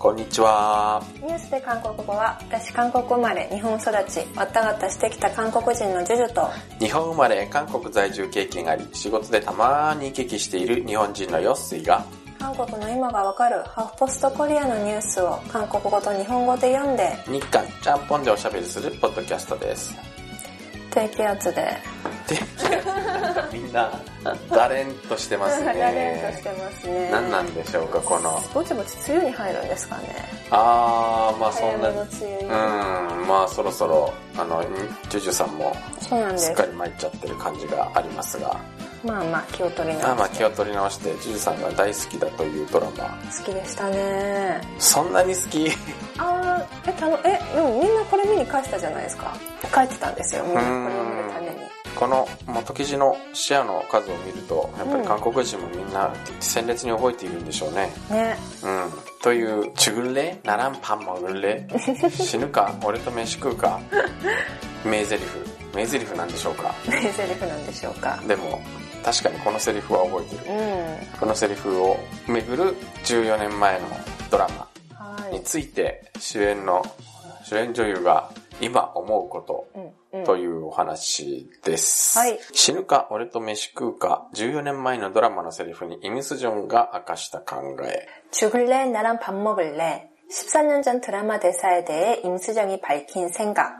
こんにちは。 ニュースで韓国語は、私韓国生まれ、日本育ち、わったがったしてきた韓国人のジュジュと、 日本生まれ、韓国在住経験あり、仕事でたまに行き来している日本人のヨッスイが、 韓国の今がわかるハーフポストコリアのニュースを韓国語と日本語で読んで、 日韓ちゃんぽんでおしゃべりするポッドキャストです。 低気圧で。 みんな、だれんとしてますね。 だれんとしてますね。 何なんでしょうか、この。 ぼちぼち梅雨に入るんですかね。 まあそんな、まあそろそろ、ジュジュさんも、 そうなんです。 すっかり参っちゃってる感じがありますが。 まあ気を取り直して。 気を取り直して、ジュジュさんが大好きだというドラマ。 好きでしたね。 そんなに好き？ でもみんなこれ見に返したじゃないですか。帰ってたんですよ、みんなこれを見るために。 この元記事の視野の数を見ると、やっぱり韓国人もみんな鮮烈に覚えているんでしょうね。 ね。 という、죽을래? 나랑 밥 먹을래? 死ぬか俺と飯食うか名台詞なんでしょうか。 名台詞なんでしょうか。 でも、確かにこのセリフは覚えてる。このセリフを巡る14年前のドラマについて、主演女優が今思うことというお話です。 はい、 死ぬか俺と飯食うか14年前のドラマのセリフにイムスジョンが明かした考え。 죽을래 나랑 밥 먹을래 14년 전 드라마 대사에 대해 임수정이 밝힌 생각。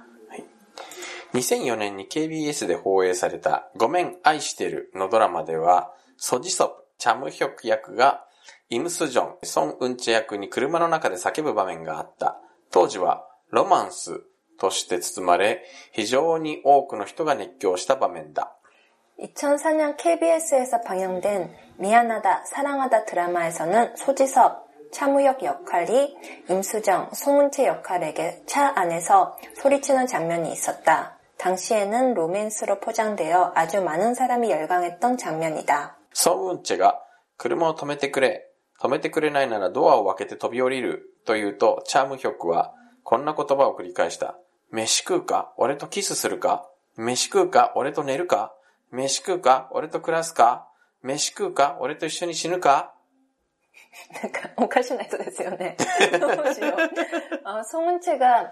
2004年に KBS で放映されたごめん愛してるのドラマでは、ソジソプ、チャムヒョク役がイムスジョン、ソン・ウンチェ役に車の中で叫ぶ場面があった。当時はロマンスとして包まれ、非常に多くの人が熱狂した場面だ。 2004년 KBS에서 방영된 미안하다, 사랑하다 드라마에서는 소지섭, 차무혁 역할이 임수정, 송은채 역할에게 차 안에서 소리치는 장면이 있었다. 당시에는 로맨스로 포장되어 아주 많은 사람이 열광했던 장면이다. 송은채가 車を止めてくれないならドアを開けて飛び降りると言うと、チャームヒョクはこんな言葉を繰り返した。飯食うか俺とキスするか飯食うか俺と寝るか飯食うか俺と暮らすか飯食うか俺と一緒に死ぬか。 なんかおかしな人ですよね。どうしよう。송은채가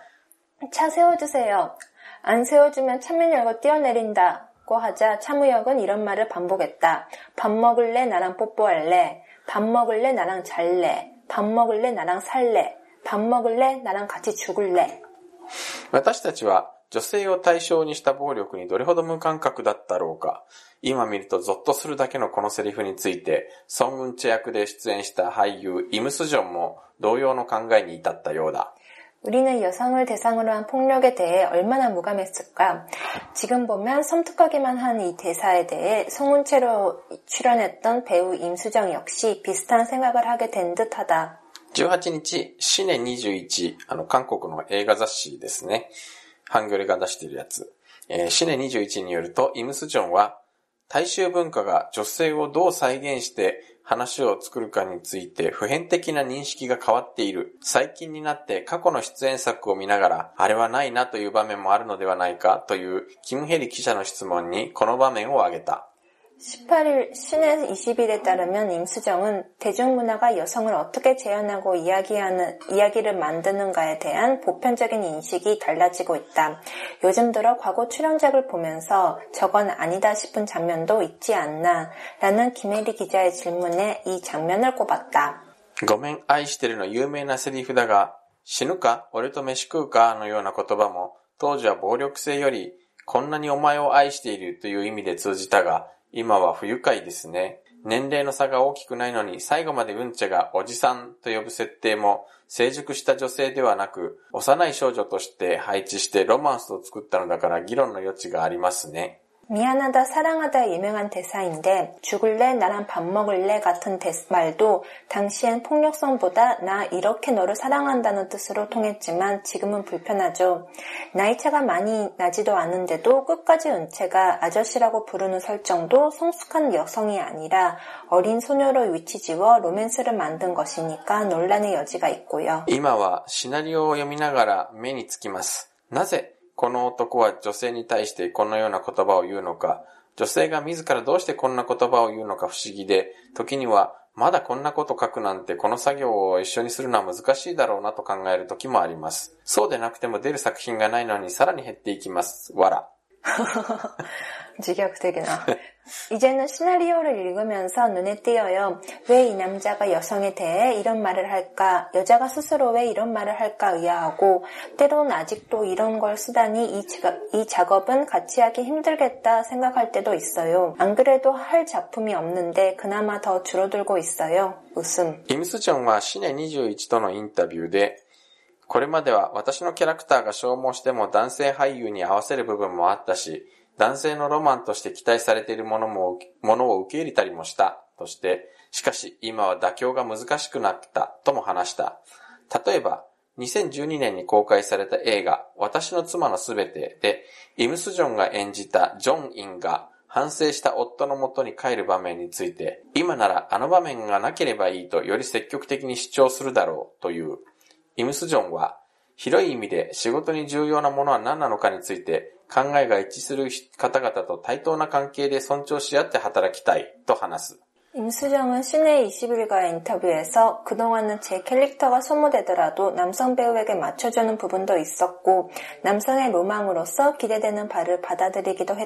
차 세워주세요. 안 세워주면 차문 열고 뛰어내린다고 하자 차무혁은 이런 말을 반복했다. 밥 먹을래? 나랑 뽀뽀할래? 밥 먹을래? 나랑 잘래? 밥 먹을래? 나랑 살래? 밥 먹을래? 나랑 같이 죽을래? 私たちは女性を対象にした暴力にどれほど無感覚だったろうか。今見るとゾッとするだけのこのセリフについて、ソン・ウンチェ役で出演した俳優イムスジョンも同様の考えに至ったようだ。 우리는 여성을 대상으로 한 폭력에 대해 얼마나 무감했을까? 지금 보면 섬뜩하기만 한 이 대사에 대해 송은채로 출연했던 배우 임수정 역시 비슷한 생각을 하게 된 듯하다. 18日、シネ21、韓国の映画雑誌ですね。ハンギョレが出しているやつ。シネ21によると、イムスジョンは、大衆文化が女性をどう再現して話を作るかについて普遍的な認識が変わっている。最近になって過去の出演作を見ながら、あれはないなという場面もあるのではないかというキム・ヘリ記者の質問にこの場面を挙げた。 18일 신의 20일에 따르면 임수정은 대중문화가 여성을 어떻게 재현하고 이야기를 만드는가에 대한 보편적인 인식이 달라지고 있다. 요즘 들어 과거 출연작을 보면서 저건 아니다 싶은 장면도 있지 않나 라는 김혜리 기자의 질문에 이 장면을 꼽았다. ごめん愛してるの有名なセリフだが、死ぬか俺と飯食うかのような言葉も当時は暴力性よりこんなにお前を愛しているという意味で通じたが、今は不愉快ですね。年齢の差が大きくないのに最後までウンチェがおじさんと呼ぶ設定も成熟した女性ではなく幼い少女として配置してロマンスを作ったのだから議論の余地がありますね。 미안하다 사랑하다 유명한 대사인데 죽을래 나랑 밥 먹을래 같은 말도 당시엔 폭력성보다 나 이렇게 너를 사랑한다는 뜻으로 통했지만 지금은 불편하죠. 나이차가 많이 나지도 않은데도 끝까지 은채가 아저씨라고 부르는 설정도 성숙한 여성이 아니라 어린 소녀로 위치지워 로맨스를 만든 것이니까 논란의 여지가 있고요. 今はシナリオを読みながら目につきます。なぜこの男は女性に対してこのような言葉を言うのか、女性が自らどうしてこんな言葉を言うのか不思議で、時にはまだこんなこと書くなんてこの作業を一緒にするのは難しいだろうなと考える時もあります。そうでなくても出る作品がないのにさらに減っていきます。わら。 自虐的な. 이제는 시나리오를 읽으면서 눈에 띄어요. 왜 이 남자가 여성에 대해 이런 말을 할까? 여자가 스스로 왜 이런 말을 할까 의아하고 때론 아직도 이런 걸 쓰다니 이 작업은 같이 하기 힘들겠다 생각할 때도 있어요. 안 그래도 할 작품이 없는데 그나마 더 줄어들고 있어요. 웃음. 임수정はシネ21とのインタビューでこれまでは私のキャラクターが消耗しても男性俳優に合わせる部分もあったし、男性のロマンとして期待されているものを受け入れたりもしたとして、しかし今は妥協が難しくなったとも話した。例えば、2012年に公開された映画、私の妻のすべてで、イムスジョンが演じたジョン・インが反省した夫の元に帰る場面について、今ならあの場面がなければいいとより積極的に主張するだろうという。イムスジョンは、広い意味で仕事に重要なものは何なのかについて、考えが一致する方々と対等な関係で尊重し合って働きたいと話す。 임수정은 시내 21과의 인터뷰에서 그동안은 제 캐릭터가 소모되더라도 남성 배우에게 맞춰주는 부분도 있었고 남성의 로망으로서 기대되는 바를 받아들이기도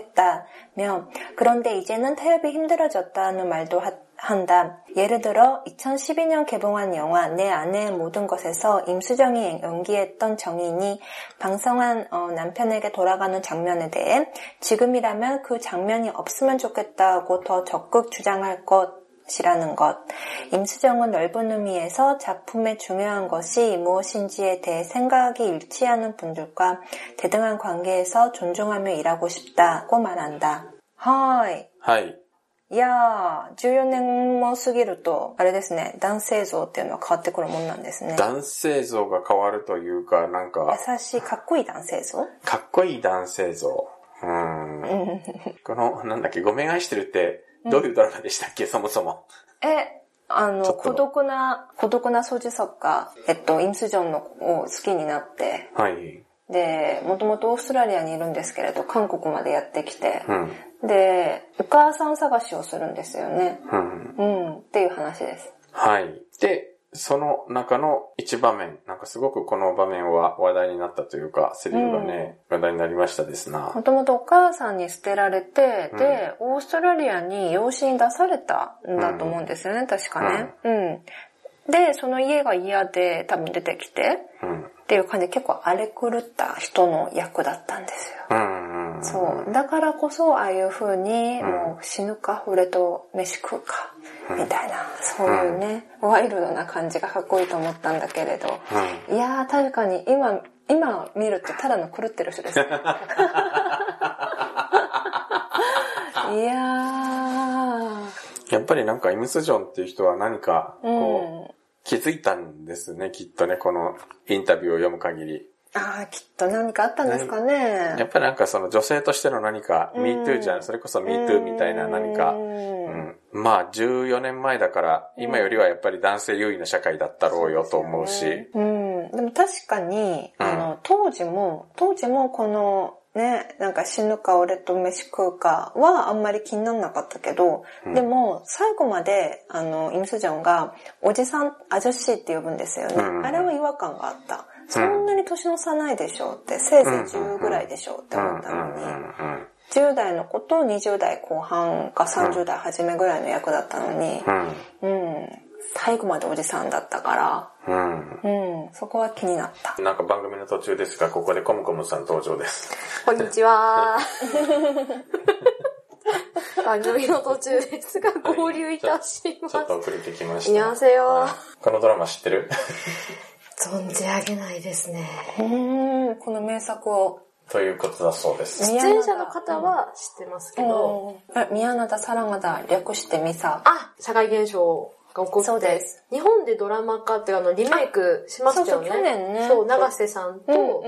했다며 그런데 이제는 타협이 힘들어졌다는 말도 한다. 예를 들어 2012년 개봉한 영화 내 아내의 모든 것에서 임수정이 연기했던 정인이 방성한 남편에게 돌아가는 장면에 대해 지금이라면 그 장면이 없으면 좋겠다고 더 적극 주장할 것이라는 것. 임수정은 넓은 의미에서 작품의 중요한 것이 무엇인지에 대해 생각이 일치하는 분들과 대등한 관계에서 존중하며 일하고 싶다고 말한다. 하이. いやー、14年も過ぎると、あれですね、男性像っていうのは変わってくるもんなんですね。 男性像が変わるというか、なんか。 優しい、かっこいい男性像？ かっこいい男性像。この、なんだっけ、ごめん愛してるって、どういうドラマでしたっけ、そもそも。 孤独な掃除作家、イムスジョンのを好きになって、 はい。 で、もともとオーストラリアにいるんですけれど、韓国までやってきて、で、お母さん探しをするんですよね。っていう話です。 はい。で、その中の一場面、なんかすごくこの場面は話題になったというか、セリフがね、話題になりましたですな。 もともとお母さんに捨てられて、で、オーストラリアに養子に出されたんだと思うんですよね、確かね。で、その家が嫌で多分出てきて、っていう感じで結構荒れ狂った人の役だったんですよ。そう。だからこそ、ああいう風に、もう死ぬか、俺と飯食うか、みたいな、そういうね、ワイルドな感じがかっこいいと思ったんだけれど、いやー、確かに今見るとただの狂ってる人ですね。いやー。やっぱりなんかイムスジョンっていう人は何か、こう、気づいたんですね、きっとね、このインタビューを読む限り。 ああ、きっと何かあったんですかね。 やっぱりなんかその女性としての何か、MeToo じゃん、それこそ MeToo みたいな何か、まあ14年前だから、今よりはやっぱり男性優位な社会だったろうよと思うし。 でも確かに、当時もこの、ね、なんか死ぬか俺と飯食うかはあんまり気にならなかったけど、でも最後までイムスジョンがおじさん、アジョシーって呼ぶんですよね。あれは違和感があった。そんなに年の差ないでしょうって、せいぜい10ぐらいでしょうって思ったのに、10代の子と20代後半か30代初めぐらいの役だったのに、最後までおじさんだったから、そこは気になった。 なんか番組の途中ですが、ここでコムコムさん登場です。 こんにちは。番組の途中ですが、合流いたします。 ちょっと遅れてきました。 안녕하세요。 このドラマ知ってる？ 存じ上げないですね。 この名作を。 ということだそうです。 出演者の方は知ってますけど。 宮灘サラガダ、略してミサ。 社会現象が起こって。そうです。日本でドラマ化ってリメイクしましたよね。 去年ね。 そう、長瀬さんと、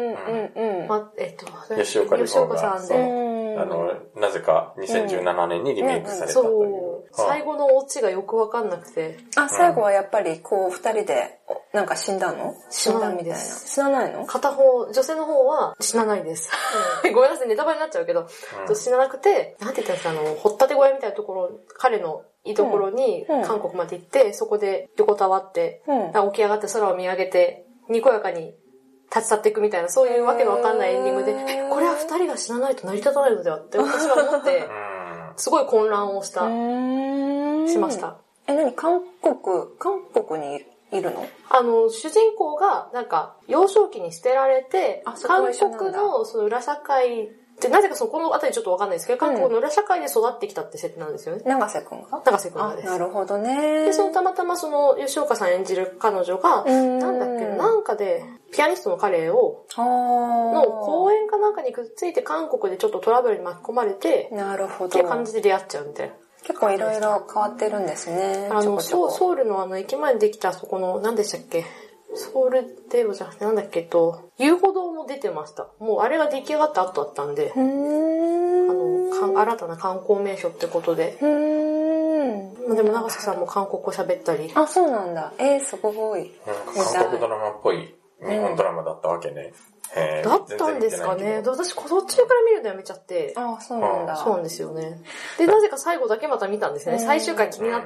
吉岡里帆さんで、なぜか2017年にリメイクされたという。 最後のオチがよくわかんなくて。 あ、最後はやっぱりこう二人でなんか死んだの？ 死なないみたいな。死なないの？ 片方、女性の方は死なないです。ごめんなさい、ネタバレになっちゃうけど、死ななくて、なんて言ったんですか、掘ったて小屋みたいなところ、彼の居所に韓国まで行って、そこで横たわって、起き上がって空を見上げて、にこやかに立ち去っていくみたいな、そういうわけのわかんないエンディングで、これは二人が死なないと成り立たないのではって私は思って、すごい混乱をしました。 何？韓国にいるの？ 主人公が、なんか、幼少期に捨てられて、韓国のその裏社会で、なぜかこのあたりちょっとわかんないですけど、韓国の裏社会で育ってきたって設定なんですよね。 永瀬くんが？ 永瀬くんがです。 なるほどね。 で、たまたま吉岡さん演じる彼女が、なんだっけ、なんかで、ピアニストの彼の公演かなんかにくっついて韓国でちょっとトラブルに巻き込まれて、 なるほど。 っていう感じで出会っちゃうみたいな。 結構いろいろ変わってるんですね。 ソウルの駅前にできたそこの、何でしたっけ？ソウルデーロじゃなくてなんだっけ遊歩道も出てました。もうあれが出来上がった後だったんで、新たな観光名所ってことで。でも長瀬さんも韓国語喋ったり。 あ、そうなんだ。すごい。 韓国ドラマっぽい日本ドラマだったわけね。 だったんですかね。私、途中から見るのやめちゃって。 あ、そうなんだ。 そうなんですよね。で、なぜか最後だけまた見たんですね。最終回気になって。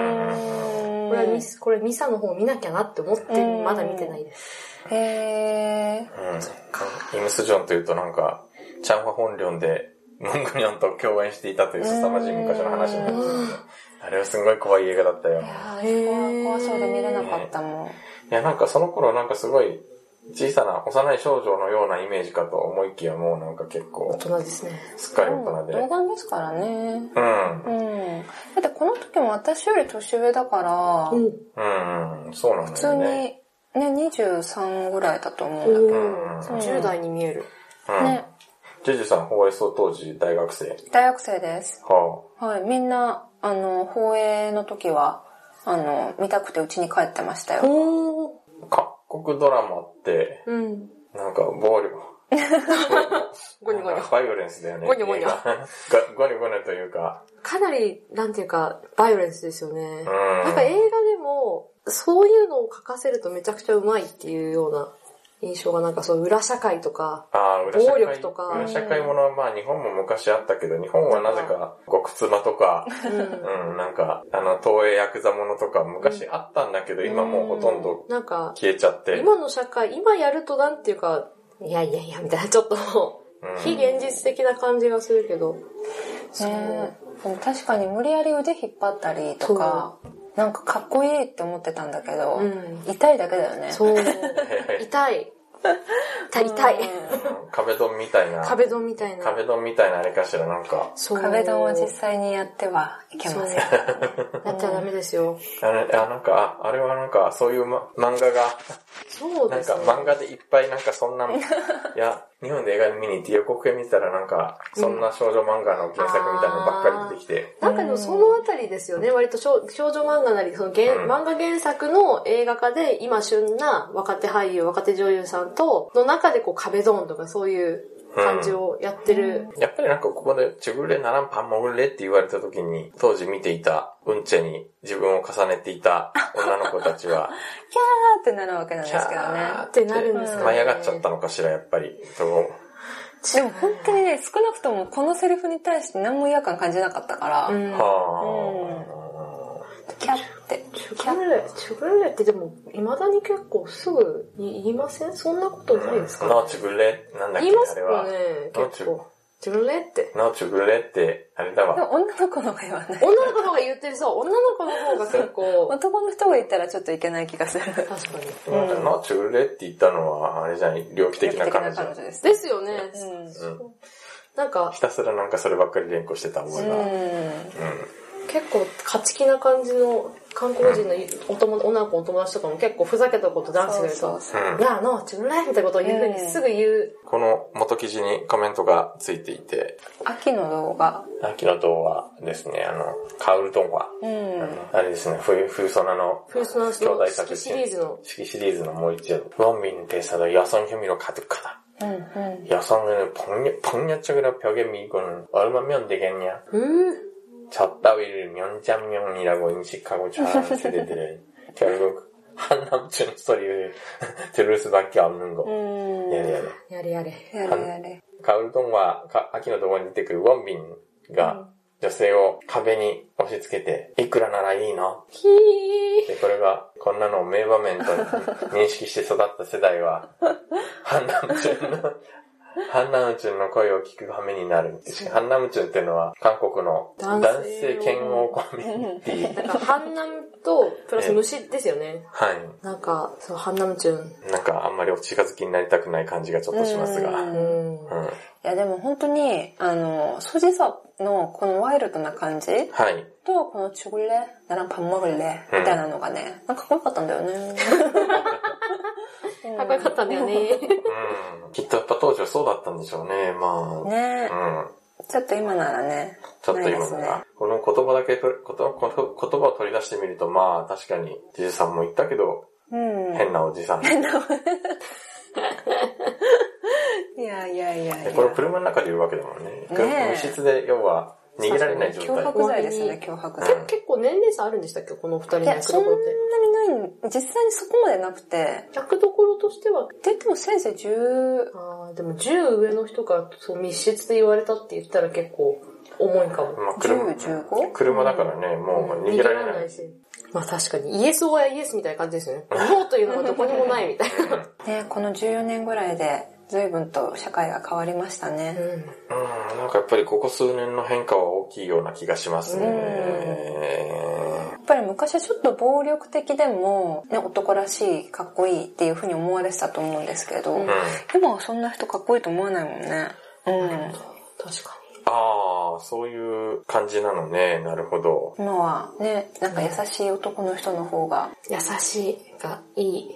これミサの方見なきゃなって思って、まだ見てないです。 イムスジョンというとなんか、チャンファ本領で、ムングニョンと共演していたという凄まじい昔の話になってあれはすごい怖い映画だったよ。 怖そうで見れなかったもん。 いや、なんかその頃なんかすごい、小さな幼い少女のようなイメージかと思いきやもうなんか結構大人ですね。 すっかり大人で。 童顔ですからね。だってこの時も私より年上だから、 そうなんだよね。 普通にね、23ぐらいだと思うんだけど。 10代に見える。 ね。 ジェジュさん、放映当時大学生？ 大学生です。はい。みんな、放映の時は、見たくてうちに帰ってましたよ。 韓国ドラマって、なんか暴力。 ゴニョゴニョ。 バイオレンスだよね。 ゴニョゴニョ。 ゴニョゴニョというか。 かなり、なんていうか、バイオレンスですよね。なんか映画でも、そういうのを書かせるとめちゃくちゃうまいっていうような印象がなんかそう裏社会とか、暴力とか。 裏社会ものはまあ日本も昔あったけど、日本はなぜか極妻とか、なんか東映ヤクザものとか昔あったんだけど、今もうほとんど消えちゃって。 今の社会、今やるとなんていうか、いやみたいなちょっと非現実的な感じがするけど。 でも確かに無理やり腕引っ張ったりとか、なんかかっこいいって思ってたんだけど、痛いだけだよね。 そう。痛い。 壁ドンみたいなあれかしらなんか。 壁ドンは実際にやってはいけません。やっちゃダメですよ。 なんか、あれはなんかそういう漫画が、 そうですね。 なんか漫画でいっぱいなんかそんな、いや、日本で映画見に行って予告編見たらなんか、そんな少女漫画の原作みたいなのばっかり出てきて。 なんかでもそのあたりですよね。割と少女漫画なり、漫画原作の映画化で今旬な若手俳優、若手女優さんの中で壁ドンとかそういう感じをやってる。 やっぱりなんかここでチュグレナランパンモグレって言われた時に、当時見ていたウンチェに自分を重ねていた女の子たちは、 キャーってなるわけなんですけどね。 キャーってなるんですかね。 舞い上がっちゃったのかしら、やっぱり。 でも本当にね、少なくともこのセリフに対して何も違和感感じなかったから。キャって。 チュグレってでも、未だに結構すぐ言いません？そんなことないですか？ ノーチュグレなんだっけ？ 言いますよね、結構。チュグレって。 ノーチュグレって、あれだわ。 女の子の方が言わない。 女の子の方が言ってる、そう。女の子の方が結構。 男の人が言ったらちょっといけない気がする。 確かに。 ノーチュグレって言ったのは、あれじゃない、猟奇的な彼女です。 ですよね。なんか。 ひたすらなんかそればっかり連呼してた覚えが。 結構勝ち気な感じの韓国人の女の子の友達とかも結構ふざけたこと男子が言うと、いや、ノーチュグレみたいなことを言うふうにすぐ言う。 この元記事にコメントがついていて、 秋の動画ですね、カウルドンワ。あれですね、冬ソナの兄弟作シリーズの。 式シリーズのもう一話。원빈 대사도 여성 혐의로 가득하다. 여성을 폭력적으로 벽에 밀고는 얼마면 되겠냐. 첫 따위를 면장면이라고 인식하고 자연스레 들은 결국 한남준 소리를 들을 수밖에 없는 거. 야래. 가을 동화,秋の童話に出てくるウォンビンが女性を壁に押し付けて、いくらならいいの？で、これが、こんなのを名場面と認識して育った世代は、ハンナムチュンの声を聞く羽目になる。ハンナムチュンっていうのは、韓国の男性嫌悪コミュニティ。 なんか、ハンナムと、プラス虫ですよね。 はい。 なんか、そう、ハンナムチュン。 なんか、あんまりお近づきになりたくない感じがちょっとしますが。 いや、でも本当に、ソジソのこのワイルドな感じ、 はい。 と、この죽을래?나랑 밥 먹을래? みたいなのがね、なんかかっこよかったんだよね。 かっこよかったんだよね。 きっとやっぱ当時はそうだったんでしょうね、まあ。 ねちょっと今ならね。 ちょっと今なら。この言葉だけ、言葉を取り出してみると、まあ確かに、じじさんも言ったけど、変なおじさん。 いや。 これ車の中で言うわけだもんね。密室で、要は、逃げられない状態。 脅迫罪ですね、脅迫罪。結構年齢差あるんでしたっけ、この二人の役どころって。 いや、そんなにない、実際にそこまでなくて。 役どころとしては。 でもせいぜい10。 でも10上の人からそう密室で言われたって言ったら結構重いかも。 まあ、10、15? 車だからね、もう逃げられない。 まあ確かに、イエスオアイエスみたいな感じですよね。ノーというのがどこにもないみたいな。 ね、この14年ぐらいで、随分と社会が変わりましたね。 なんかやっぱりここ数年の変化は大きいような気がしますね。 やっぱり昔はちょっと暴力的でも、ね、男らしい、かっこいいっていう風に思われてたと思うんですけど、今はそんな人かっこいいと思わないもんね。 確かに。 ああ、そういう感じなのね。なるほど。 今はね、なんか優しい男の人の方が。 優しいがいい。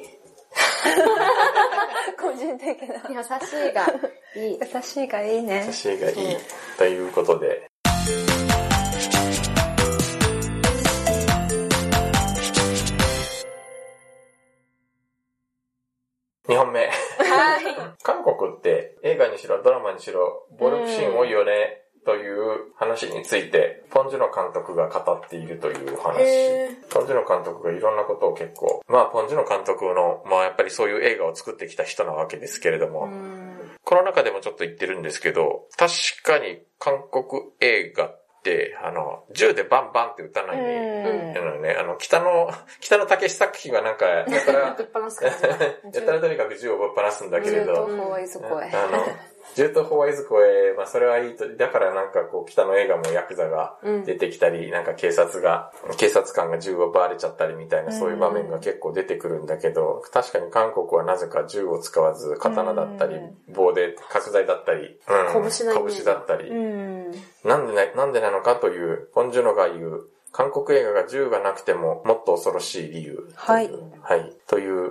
個人的な。 優しいがいい。 優しいがいいね。 優しいがいい。ということで。2本目。韓国って映画にしろドラマにしろ暴力シーン多いよねという話についてポン・ジュノ監督が語っているという話。ポン・ジュノ監督がいろんなことを結構、まあポン・ジュノ監督の、まあやっぱりそういう映画を作ってきた人なわけですけれども、この中でもちょっと言ってるんですけど、確かに韓国映画って銃でバンバンって撃たないね。北野武作品はなんか、やたらとにかく銃をぶっ放すんだけれど、銃とホワイズ声、まあそれはいいと、だからなんかこう北の映画もヤクザが出てきたり、なんか警察官が銃を奪われちゃったりみたいなそういう場面が結構出てくるんだけど、確かに韓国はなぜか銃を使わず刀だったり、棒で角材だったり、拳だったり、なんでなのかという、ポン・ジュノが言う、韓国映画が銃がなくてももっと恐ろしい理由。はい。という、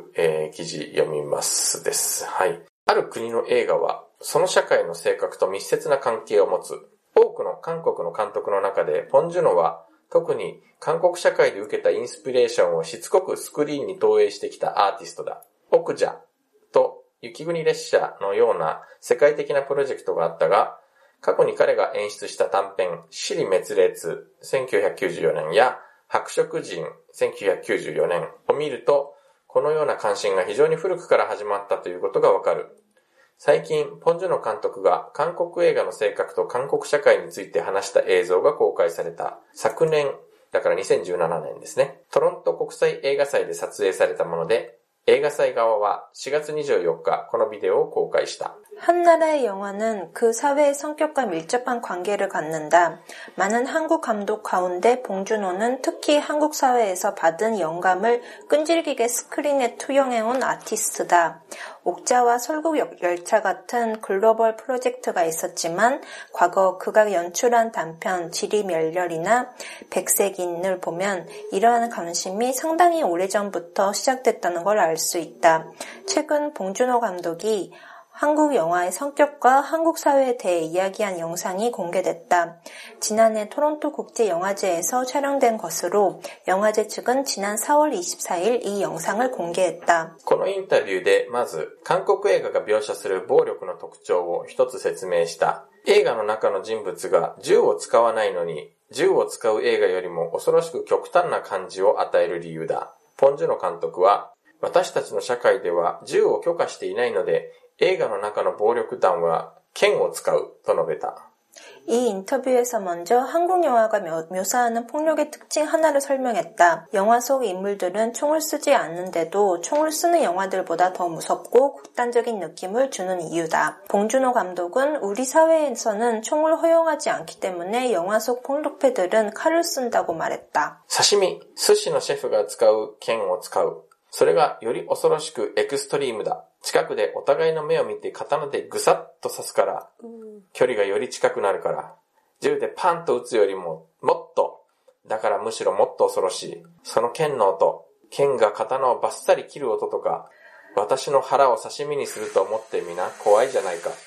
記事読みますです。はい。ある国の映画は、その社会の性格と密接な関係を持つ。多くの韓国の監督の中で、ポン・ジュノは、特に韓国社会で受けたインスピレーションをしつこくスクリーンに投影してきたアーティストだ。オクジャと雪国列車のような世界的なプロジェクトがあったが、過去に彼が演出した短編、支離滅裂1994年や白色人1994年を見ると、このような関心が非常に古くから始まったということがわかる。最近、ポン・ジュノ監督が韓国映画の性格と韓国社会について話した映像が公開された。昨年、だから2017年ですね。トロント国際映画祭で撮影されたもので、映画祭側は4月24日このビデオを公開した。 한 나라의 영화는 그 사회의 성격과 밀접한 관계를 갖는다. 많은 한국 감독 가운데 봉준호는 특히 한국 사회에서 받은 영감을 끈질기게 스크린에 투영해온 아티스트다. 옥자와 설국열차 같은 글로벌 프로젝트가 있었지만 과거 그가 연출한 단편 지리멸렬이나 백색인을 보면 이러한 관심이 상당히 오래전부터 시작됐다는 걸 알 수 있다. 최근 봉준호 감독이 한국 영화의 성격과 한국 사회에 대해 이야기한 영상이 공개됐다. 지난해 토론토 국제영화제에서 촬영된 것으로 영화제 측은 지난 4월 24일 이 영상을 공개했다. このインタビューでまず韓国映画が描写する暴力の特徴を一つ説明した。映画の中の人物が銃を使わないのに、銃を使う映画よりも恐ろしく極端な感じを与える理由だ。ポン・ジュノ監督は、私たちの社会では銃を許可していないので、映画の中の暴力団は剣を使うと述べた。 이 인터뷰에서 먼저 한국 영화가 묘사하는 폭력의 특징 하나를 설명했다. 영화 속 인물들은 총을 쓰지 않는데도 총을 쓰는 영화들보다 더 무섭고 극단적인 느낌을 주는 이유다. 봉준호 감독은 우리 사회에서는 총을 허용하지 않기 때문에 영화 속 폭력배들은 칼을 쓴다고 말했다. 刺身、寿司のシェフが使う剣を使う。それがより恐ろしくエクストリームだ。近くでお互いの目を見て刀でぐさっと刺すから、距離がより近くなるから、銃でパンと撃つよりももっと、だからむしろもっと恐ろしい。その剣の音、剣が刀をバッサリ切る音とか、私の腹を刺身にすると思ってみな、怖いじゃないか。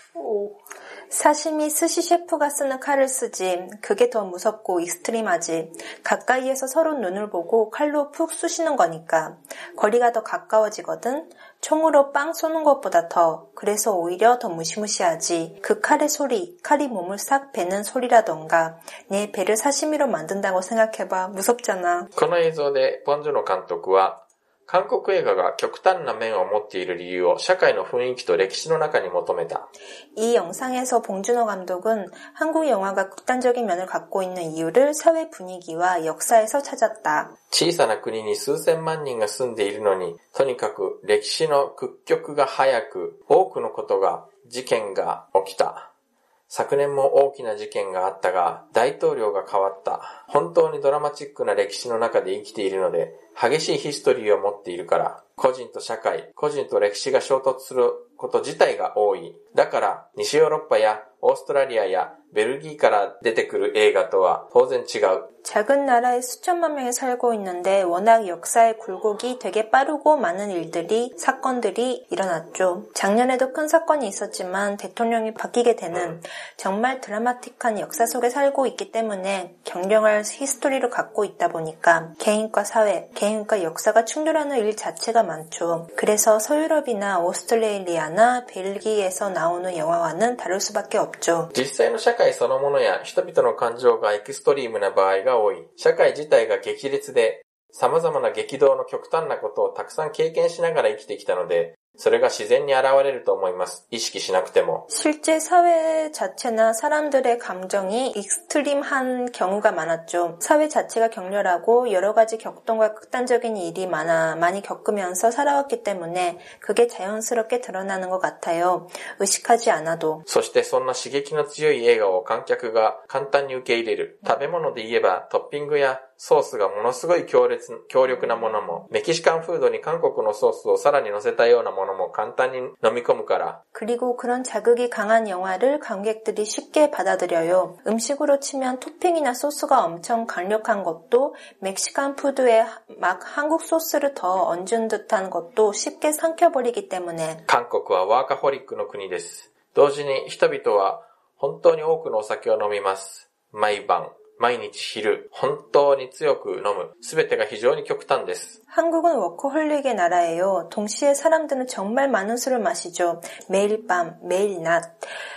사시미 스시 셰프가 쓰는 칼을 쓰지. 그게 더 무섭고 익스트림하지. 가까이에서 서로 눈을 보고 칼로 푹 쑤시는 거니까. 거리가 더 가까워지거든. 총으로 빵 쏘는 것보다 더. 그래서 오히려 더 무시무시하지. 그 칼의 소리, 칼이 몸을 싹 베는 소리라던가. 내 배를 사시미로 만든다고 생각해봐. 무섭잖아. この映像でポン・ジュノ監督は、韓国映画が極端な面を持っている理由を社会の雰囲気と歴史の中に求めた。 이 영상에서 봉준호 감독은 한국 영화가 극단적인 면을 갖고 있는 이유를 사회 분위기와 역사에서 찾았다. 小さな国に数千万人が住んでいるのに、とにかく歴史の屈曲が早く、多くのことが、事件が起きた。昨年も大きな事件があったが、大統領が変わった。本当にドラマチックな歴史の中で生きているので、激しいヒストリーを持っているから、個人と社会、個人と歴史が衝突すること自体が多い。だから、西ヨーロッパやオーストラリアやベルギーから出てくる映画とは当然違う。 작은 나라에 수천만 명이 살고 있는데 워낙 역사의 굴곡이 되게 빠르고 많은 일들이, 사건들이 일어났죠. 작년에도 큰 사건이 있었지만 대통령이 바뀌게 되는 정말 드라마틱한 역사 속에 살고 있기 때문에 경량할 히스토리를 갖고 있다 보니까 개인과 사회, 개인과 역사가 충돌하는 일 자체가 많죠. 그래서 서유럽이나 오스트레일리아나 벨기에에서 나오는 영화와는 다를 수밖에 없죠. 実際の社会そのものや人々の感情がエクストリームな場合が多い。社会自体が激烈で、様々な激動の極端なことをたくさん経験しながら生きてきたので、それが自然に現れると思います。意識しなくても。 실제 사회 자체나 사람들의 감정이 익스트림한 경우가 많았죠. 사회 자체가 격렬하고 여러 가지 격동과 극단적인 일이 많이 겪으면서 살아왔기 때문에 그게 자연스럽게 드러나는 것 같아요. 의식하지 않아도. そしてそんな刺激の強い映画を観客が簡単に受け入れる。食べ物で言えばトッピングやソースがものすごい強力なものも、メキシカンフードに韓国のソースをさらに乗せたようなものも簡単に飲み込むから。 그리고 그런 자극이 강한 영화를 관객들이 쉽게 받아들여요. 음식으로 치면 토핑이나 소스가 엄청 강력한 것도, 멕시칸 푸드에 막 한국 소스를 더 얹은 듯한 것도 쉽게 삼켜버리기 때문에. 韓国はワーカホリックの国です。同時に人々は本当に多くのお酒を飲みます。毎晩。毎日昼、本当に強く飲む。すべてが非常に極端です。 한국은 워커홀릭의 나라예요. 동시에 사람들은 정말 많은 술을 마시죠. 매일 밤, 매일 낮.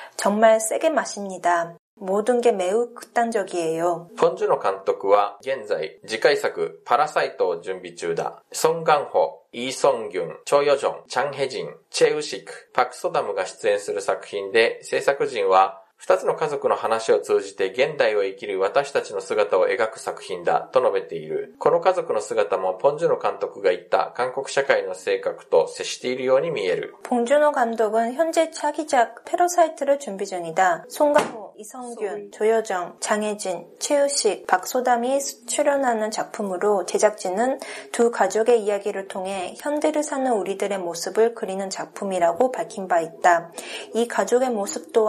정말 세게 마십니다. 모든 게 매우 극단적이에요. ポン・ジュノ監督は現在次回作パラサイトを準備中だ。ソン・ガンホ、イー・ソンギュン、チョ・ヨジョン、チャン・ヘジン、チェ・ウシク、パク・ソダムが出演する作品で、制作陣は二つの家族の話を通じて現代を生きる私たちの姿を描く作品だと述べている。この家族の姿もポン・ジュノ監督が言った韓国社会の性格と接しているように見える。 봉준호 감독은 현재 차기작 패러사이트를 준비 중이다. 송강호, 이성균, 조여정, 장혜진, 최우식, 박소담이 출연하는 작품으로 제작진은 두 가족의 이야기를 통해 현대를 사는 우리들의 모습을 그리는 작품이라고 밝힌 바 있다. 이 가족의 모습 또한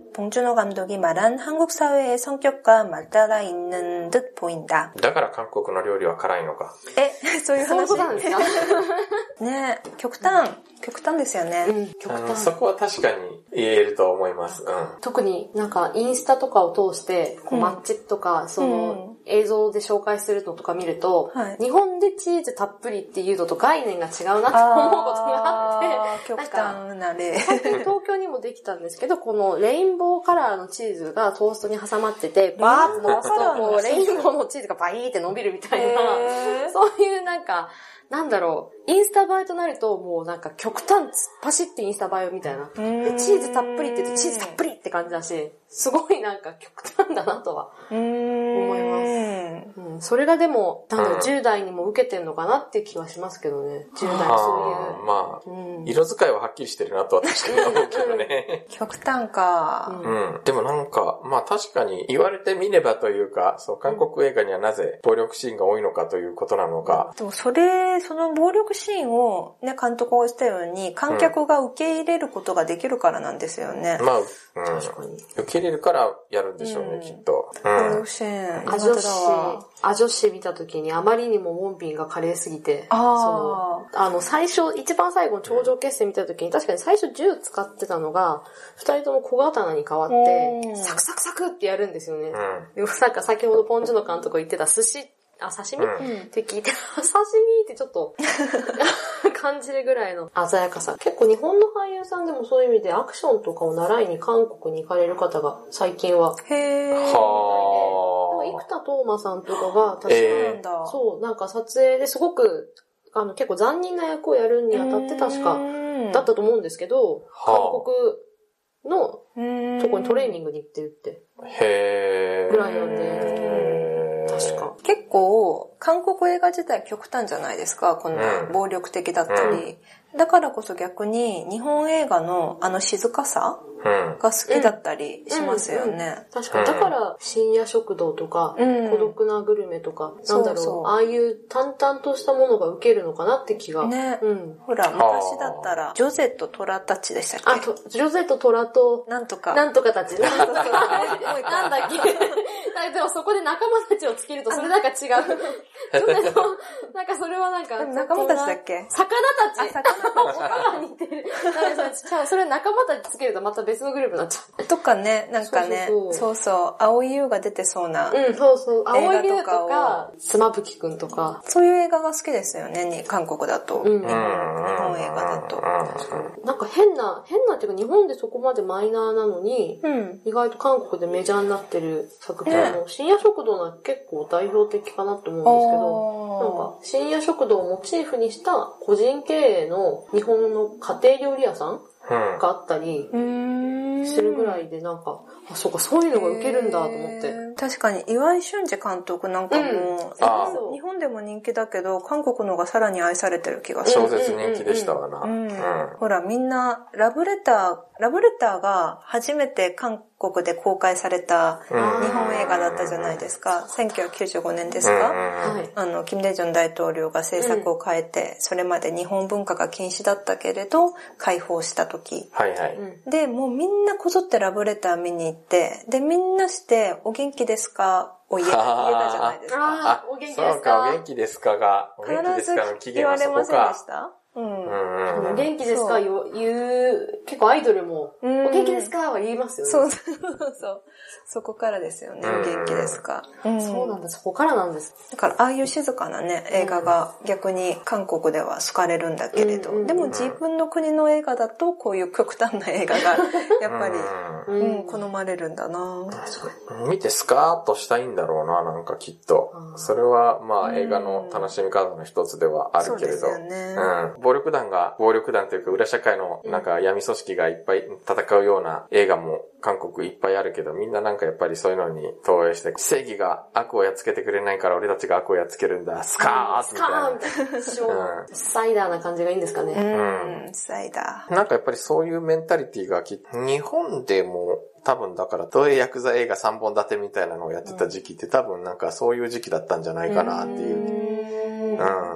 봉준호 감독이 말한 한국 사회의 성격과 맞닿아 있는 듯 보인다. だから韓国の料理は辛いのか。 そういう話。 そういうことなんですかね、極端ですよね。 極端。 そこは確かに言えると思います。 特になんかインスタとかを通して、マッチとか、その映像で紹介するのとか見ると、日本でチーズたっぷりっていうのと概念が違うなと思うことがあって、 極端な例。 最近東京にもできたんですけど、このレインボーカラーのチーズがトーストに挟まってて、バーッと伸ばすと、こう、レインボーのチーズがバイーって伸びるみたいな、そういうなんか、なんだろう、インスタ映えとなるともうなんか極端パシッてインスタ映えみたいな。でチーズたっぷりって言うとチーズたっぷりって感じだし、すごいなんか極端だなとは思います。それがでも、10代にも受けてんのかなって気はしますけどね。10代そういう。 まあ、色使いははっきりしてるなとは確かに思うけどね。 極端か。 でもなんか、まあ確かに言われてみればというか、そう、韓国映画にはなぜ暴力シーンが多いのかということなのか。 でもその暴力シーンをね、監督が言ったように、観客が受け入れることができるからなんですよね。 まあ、確かに。受け入れるからやるんでしょうね、きっと。 暴力シーン。 アジョシ見た時にあまりにもウォンビンが華麗すぎて、最初、一番最後の頂上決戦見た時に確かに最初銃使ってたのが、二人とも小刀に変わって、サクサクサクってやるんですよね。でもなんか先ほどポンジュの監督が言ってた刺身って聞いて、刺身ってちょっと感じるぐらいの鮮やかさ。結構日本の俳優さんでもそういう意味でアクションとかを習いに韓国に行かれる方が最近は。生田斗真さんとかが確か、そう、なんか撮影ですごく、結構残忍な役をやるにあたって確かだったと思うんですけど、韓国のとこにトレーニングに行ってるって。ぐらいなんで、確か。 結構、韓国映画自体極端じゃないですか、こんな暴力的だったり。だからこそ逆に日本映画の静かさが好きだったりしますよね。 確かに。だから深夜食堂とか、孤独なグルメとか、なんだろう、ああいう淡々としたものが受けるのかなって気が。 ね。ほら、昔だったら、ジョゼとトラたちでしたっけ？ ジョゼとトラと、 なんとかたち。なんだっけ？でもそこで仲間たちをつけるとそれなんか違う。ジョゼと、なんかそれはなんか。 仲間たちだっけ？ 魚たち。似てる。それ仲間たちつけるとまた別のグループになっちゃう。 とかね、なんかね、そうそう、青井優が出てそうな。 そうそう、青井優とか、妻夫木くんとか。 そういう映画が好きですよね、韓国だと。日本映画だと。 なんか変なっていうか日本でそこまでマイナーなのに、意外と韓国でメジャーになってる作品も、深夜食堂が結構代表的かなと思うんですけど、なんか深夜食堂をモチーフにした個人経営の日本の家庭料理屋さんがあったりするぐらいでなんか、そうか、そういうのが受けるんだと思って。 確かに岩井俊二監督なんかも、日本でも人気だけど韓国の方がさらに愛されてる気がする。 小説人気でしたわな。 ほらみんなラブレターが初めて韓国で公開された日本映画だったじゃないですか。1995年ですか？金大中大統領が政策を変えて、それまで日本文化が禁止だったけれど解放した時。で、もうみんなこぞってラブレター見に行って、でみんなしてお元気ですかを言えたじゃないですか。 お元気ですか。 そうか、お元気ですかが、お元気ですかの期限はそこか。 必ず言われませんでした？ お元気ですか言う、結構アイドルも、お元気ですかは言いますよね。 そう。そこからですよね、お元気ですか。 そうなんだ、そこからなんです。 だから、ああいう静かなね、映画が逆に韓国では好かれるんだけれど、でも自分の国の映画だと、こういう極端な映画が、やっぱり、好まれるんだな。 見てスカーッとしたいんだろうな、なんかきっと。それは、まあ映画の楽しみ方の一つではあるけれど。そうですよね。暴力団というか裏社会のなんか闇組織がいっぱい戦うような映画も韓国いっぱいあるけど、みんななんかやっぱりそういうのに投影して、正義が悪をやっつけてくれないから俺たちが悪をやっつけるんだ、スカーッみたいな。 サイダーな感じがいいんですかね。 サイダー。なんかやっぱりそういうメンタリティが日本でも多分だから、東映ヤクザ映画3本立てみたいなのをやってた時期って多分なんかそういう時期だったんじゃないかなっていう。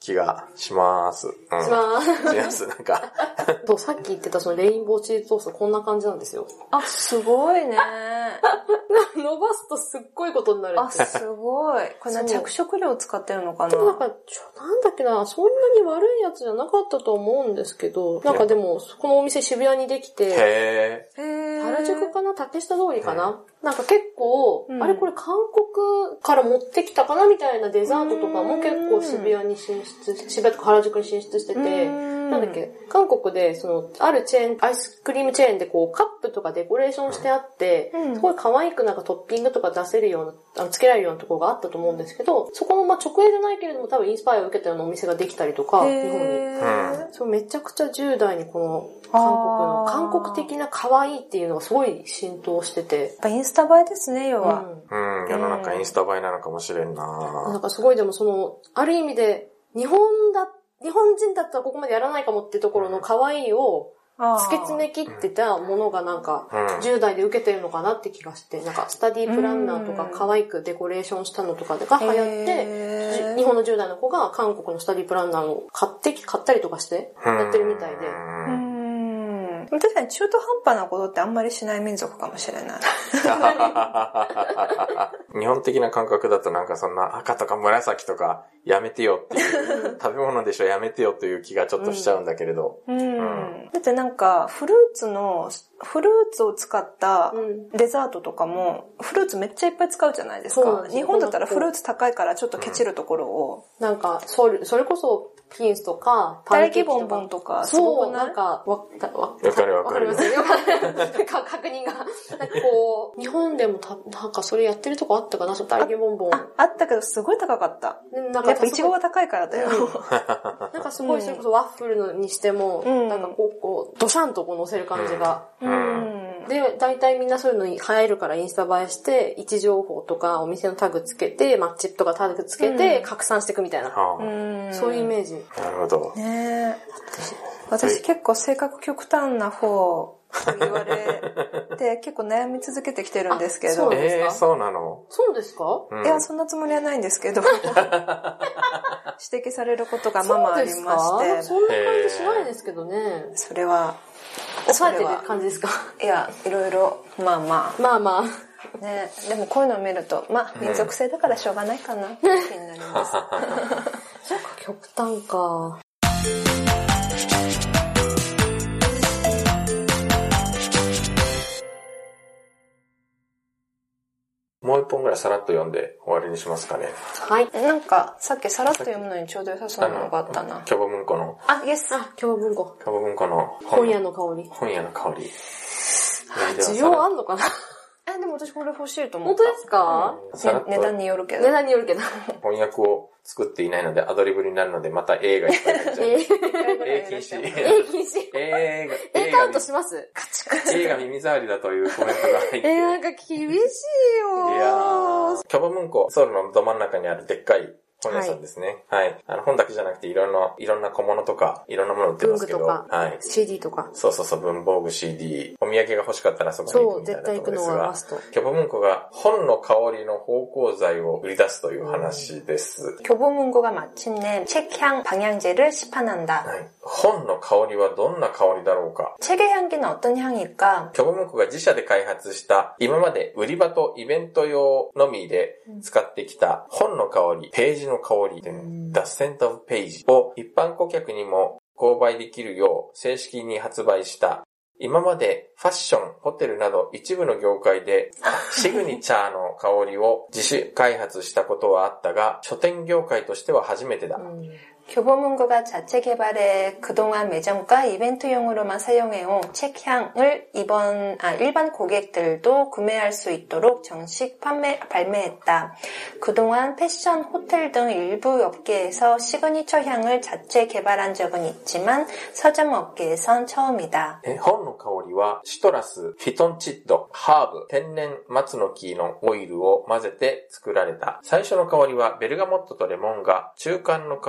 気がします。うん。 します。 します、なんか。 さっき言ってたそのレインボーチーズトーストこんな感じなんですよ。 あ、すごいね。 伸ばすとすっごいことになる。 あ、すごい。これ着色料使ってるのかな？ でもなんか、なんだっけな、そんなに悪いやつじゃなかったと思うんですけど、なんかでも、このお店渋谷にできて、原宿かな？竹下通りかな？なんか結構、あれこれ韓国から持ってきたかなみたいなデザートとかも結構渋谷とか原宿に進出してて、なんだっけ、韓国で、あるチェーン、アイスクリームチェーンでこう、カップとかデコレーションしてあって、すごい可愛くなんかトッピングとか出せるような、つけられるようなところがあったと思うんですけど、そこの直営じゃないけれども多分インスパイアを受けたようなお店ができたりとか、日本に。そう、めちゃくちゃ10代にこの、韓国的な可愛いっていうのがすごい浸透してて。 やっぱインスタ映えですね、要は。 世の中インスタ映えなのかもしれんな。 なんかすごいでもある意味で、日本人だったらここまでやらないかもってところの可愛いを突き詰め切ってたものがなんか10代で受けてるのかなって気がして、なんかスタディプランナーとか可愛くデコレーションしたのとかが流行って、日本の10代の子が韓国のスタディプランナーを買ったりとかしてやってるみたいで。 確かに中途半端なことってあんまりしない民族かもしれない。 日本的な感覚だとなんかそんな赤とか紫とかやめてよっていう食べ物でしょやめてよという気がちょっとしちゃうんだけれど。 だってなんかフルーツを使ったデザートとかもフルーツめっちゃいっぱい使うじゃないですか。日本だったらフルーツ高いからちょっとケチるところを。 なんかそれこそピンスとか、 パンケーキボンボンとか、 そう、なんか、わかりますよ。確認が。なんかこう、日本でもなんかそれやってるとこあったかな、タレキボンボン。 あったけどすごい高かった。やっぱイチゴが高いからだよ。 なんかすごい、それこそワッフルにしても、なんかこう、ドシャンとこう乗せる感じが。で、大体みんなそういうのに入るからインスタ映えして、位置情報とかお店のタグつけて、マッチとかタグつけて拡散していくみたいな。そういうイメージ。 なるほど。 ね私結構性格極端な方と言われて、結構悩み続けてきてるんですけど。 そうなの？ そうですか？ いや、そんなつもりはないんですけど。指摘されることがままありまして。 そんな感じしないですけどね。 それは。 抑えてる感じですか？ いや、いろいろ、まあまあ。ね、でもこういうのを見ると、まあ、民族性だからしょうがないかな、って気になります。 そうか、極端か。 もう一本ぐらいさらっと読んで終わりにしますかね。 はい。なんか、さっきさらっと読むのにちょうど良さそうなのがあったな。 キョボ文庫の。 イエス。 キョボ文庫。 キョボ文庫の本屋の香り。 本屋の香り。 需要あんのかな？ でも私これ欲しいと思った。 本当ですか？ 値段によるけど。 翻訳を作っていないのでアドリブになるのでまた映画いっぱいになっちゃう。禁止。 映カウントします？カチカチ。 映画耳障りだというコメントが入って。 なんか厳しいよ。 いやー。キョボ文庫、ソウルのど真ん中にあるでっかい本屋さんですね。はい。本だけじゃなくていろんな小物とか、いろんなもの売ってますけど。 文具とか、 はい。 CD とか。 そう、文房具 CD。お土産が欲しかったらそこに行くみたいなところですが。 そう、絶対行くのはマスト。 キョボ文庫が本の香りの芳香剤を売り出すという話です。 교보문고가 마침내 책향 방향제를 시판한다. はい。本の香りはどんな香りだろうか。 책의 향기는 어떤 향일까? キョボ文庫が自社で開発した今まで売り場とイベント用のみで使ってきた本の香り、ページの香り、The Scent of Page を一般顧客にも購買できるよう正式に発売した。今までファッション、ホテルなど一部の業界でシグニチャーの香りを自主開発したことはあったが、書店業界としては初めてだ。 교보문고가 자체 개발해 그동안 매점과 이벤트용으로만 사용해온 책향을 일반 고객들도 구매할 수 있도록 정식 발매했다. 그동안 패션, 호텔 등 일부 업계에서 시그니처 향을 자체 개발한 적은 있지만 서점 업계에선 처음이다. 本の香りはシトラス、フィトンチッド、ハーブ、天然松の木のオイルを混ぜて作られた。最初の香りはベルガモットとレモンガ、中間の香りは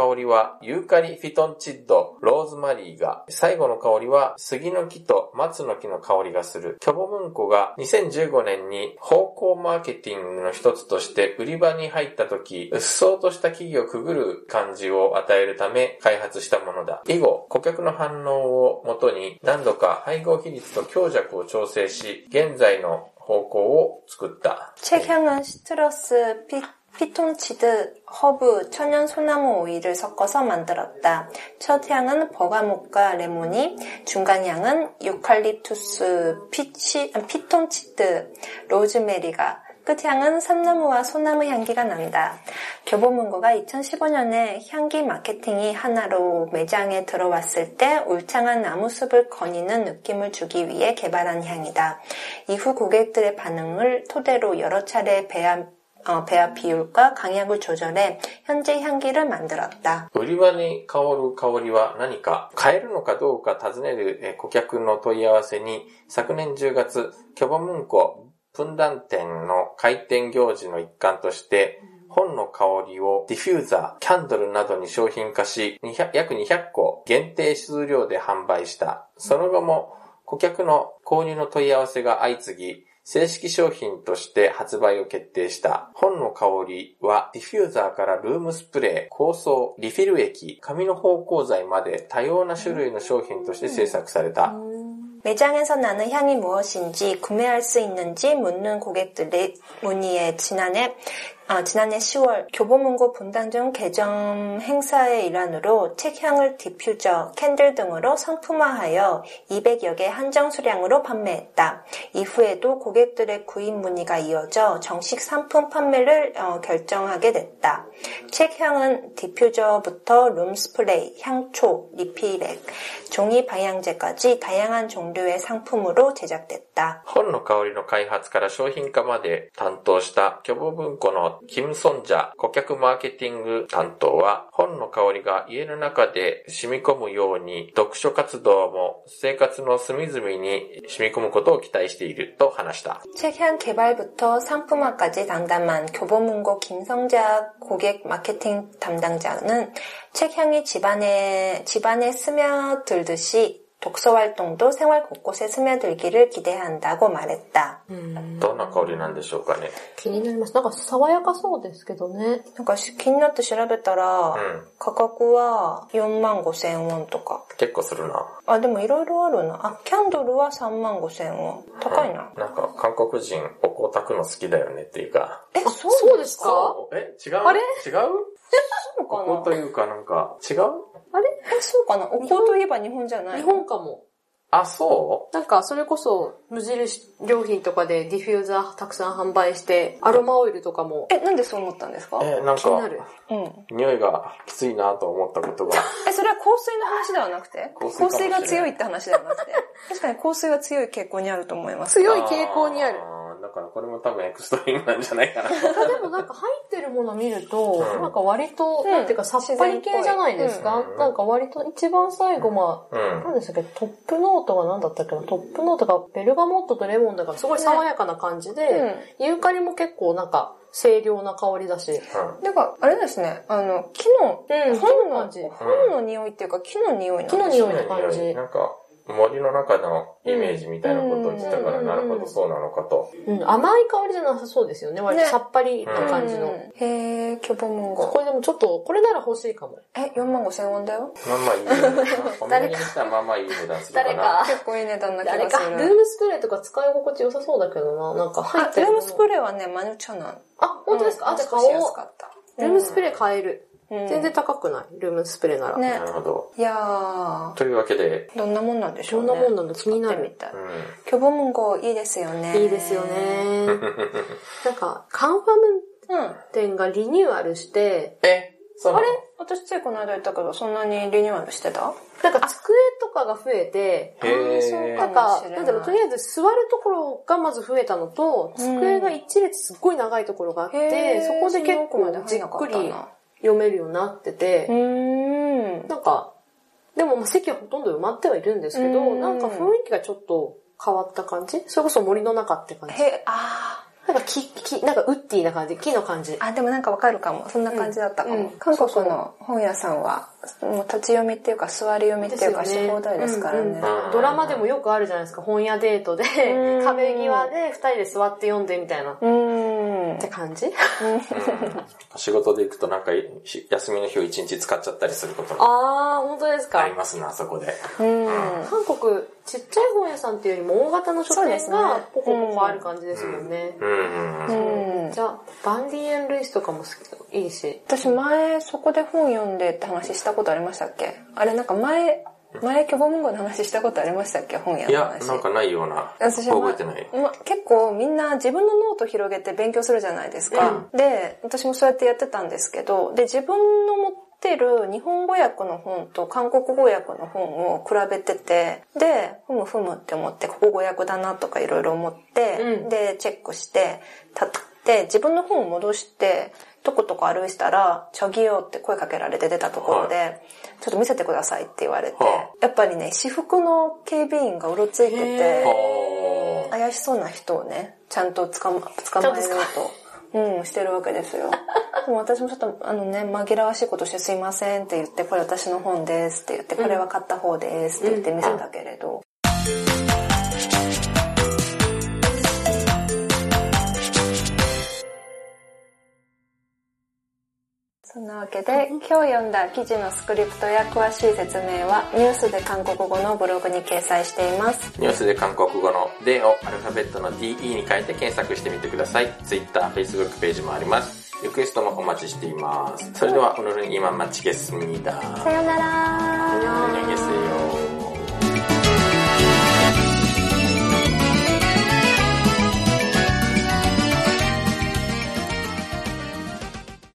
はユーカリ、フィトンチッド、ローズマリーが、最後の香りは杉の木と松の木の香りがする。キョボムンコが2015年に方向マーケティングの一つとして売り場に入った時、うっそうとした木々をくぐる感じを与えるため開発したものだ。以後、顧客の反応をもとに何度か配合比率と強弱を調整し、現在の方向を作った。 책향은 시트러스, 피톤치드, 허브, 천연 소나무 오일을 섞어서 만들었다. 첫 향은 버가목과 레모니, 중간 향은 유칼립투스, 피톤치드, 로즈메리가, 끝향은 삼나무와 소나무 향기가 난다. 교보문고가 2015년에 향기 마케팅이 하나로 매장에 들어왔을 때 울창한 나무숲을 거니는 느낌을 주기 위해 개발한 향이다. 이후 고객들의 반응을 토대로 여러 차례 배합 비율과 강약을 조절해 현재 향기를 만들었다. 売り場に香る香りは何か、買えるのかどうか尋ねる顧客の問い合わせに、昨年10月、キョボムンコ分断店の開店行事の一環として、本の香りをディフューザー、キャンドルなどに商品化し、約200個限定数量で販売した。その後も顧客の購入の問い合わせが相次ぎ、正式商品として発売を決定した。本の香りはディフューザーからルームスプレー、香草、リフィル液、紙の芳香剤まで多様な種類の商品として制作された。 매장에서 나는 향이 무엇인지 구매할 수 있는지 묻는 고객들의 문의에 지난해 10월 교보문고 분당점 개점 행사의 일환으로 책향을 디퓨저, 캔들 등으로 상품화하여 200여 개 한정 수량으로 판매했다. 이후에도 고객들의 구입 문의가 이어져 정식 상품 판매를 결정하게 됐다. 책향은 디퓨저부터 룸스프레이, 향초, 리필액, 종이 방향제까지 다양한 종류의 상품으로 제작됐다. 本の香りの開発から商品化まで担当したキョボ文庫のキム・ソンジャ顧客マーケティング担当は、本の香りが家の中で染み込むように読書活動も生活の隅々に染み込むことを期待していると話した。 책향 개발부터 상품화까지 담당한 교보문고 김성자 고객 마케팅 담당자는 책향이 집안에 스며들듯이 독서 활동도 생활 곳곳에 스며들기를 기대한다고 말했다. どんな香りなんでしょうかね。 気になります。なんか爽やかそうですけどね。 なんか気になって調べたら、価格は45,000ウォンとか。 結構するな。 あ、でもいろいろあるな。あ、キャンドルは35,000ウォン。高いな。 なんか韓国人お香炊くの好きだよねっていうか。 そうですか？ 違う？ あれ？ 違う？ そうかな？ お香というかなんか違う？ あれ？そうかな？お香といえば日本じゃない？ 日本かも。 あ、そう？ なんかそれこそ無印良品とかでディフューザーたくさん販売してアロマオイルとかも。 なんでそう思ったんですか？ なん気になかる。 匂いがきついなと思ったことが。 それは香水の話ではなくて？香水が強いって話ではなくて。確かに香水が強い傾向にあると思います。 強い傾向にある。 だからこれも多分エクストリームなんじゃないかな。 でもなんか入ってるもの見ると、なんか割と、なんていうかさっぱり系じゃないですか。なんか割と一番最後なんでしたっけ、トップノートが何だったっけな、トップノートがベルガモットとレモンだからすごい爽やかな感じで、ユーカリも結構なんか清涼な香りだし。 なんか、あれですね、木の、本の匂いっていうか木の匂いなんですね。 木の匂いの感じ。 なんか、森の中のイメージみたいなことを言ってたから、なるほどそうなのかと。 甘い香りじゃなさそうですよね。割とさっぱりな感じの。 へー、キョボムンゴ。 これでもちょっと、これなら欲しいかも。 45,000ウォンだよ。 まあまあいい値段。コンビニにしたらまあまあいい値段するかな。 誰か。 結構いい値段な気がする。 誰か。ルームスプレーとか使い心地良さそうだけどな。なんか入ってる。 ルームスプレーはね、マヌチャナン。 あ、本当ですか？じゃあ買おう。ルームスプレー買える。全然高くない。ルームスプレーなら。 なるほど。 いやー。 というわけで。 どんなもんなんでしょうね。 どんなもんなんだ気になる。 キョボムンゴいいですよね。 いいですよね。なんか、カンファム店がリニューアルして、 あれ？私ついこの間言ったけど、そんなにリニューアルしてた？ なんか机とかが増えて、なんか、なんだろう、とりあえず座るところがまず増えたのと、机が一列すっごい長いところがあって、そこで結構じっくり読めるようになってて、なんか、でも席はほとんど埋まってはいるんですけど、なんか雰囲気がちょっと変わった感じ？それこそ森の中って感じ。 なんかなんかウッディな感じ、木の感じ。 あ、でもなんかわかるかも。そんな感じだったかも。韓国の本屋さんは、もう立ち読みっていうか座り読みっていうかし放題ですからね。 ドラマでもよくあるじゃないですか。本屋デートで、壁際で二人で座って読んでみたいな。って感じ仕事で行くとなんか休みの日を一日使っちゃったりすることも本当ですか。 ありますね、あそこで。 韓国、ちっちゃい本屋さんっていうよりも大型の書店がポコポコある感じですもんね。じゃあ、バンディエン・ルイスとかもいいし。 私前そこで本読んでって話したことありましたっけ？あれなんか前キョボムンゴの話したことありましたっけ？本屋の話。 いや、なんかないような。覚えてない。 結構みんな自分のノート広げて勉強するじゃないですか。で、私もそうやってやってたんですけど、で、自分の持ってる日本語訳の本と韓国語訳の本を比べてて、で、ふむって思って、ここ語訳だなとかいろいろ思って、で、チェックして、で、自分の本を戻して、とことこ歩いてたら、チョギヨって声かけられて出たところで、ちょっと見せてくださいって言われて、やっぱりね、私服の警備員がうろついてて、怪しそうな人をね、ちゃんと捕まえようと、してるわけですよ。でも私もちょっと紛らわしいことしてすいませんって言って、これ私の本ですって言って、これは買った方ですって言って見せたけれど、そんなわけで、今日読んだ記事のスクリプトや詳しい説明はニュースで韓国語のブログに掲載しています。 ニュースで韓国語のDをアルファベットの DE に変えて検索してみてください。Twitter、Facebook ページもあります。リクエストもお待ちしています。それでは오늘은 이만 마치겠습니다。 さよなら。 안녕히 계세요。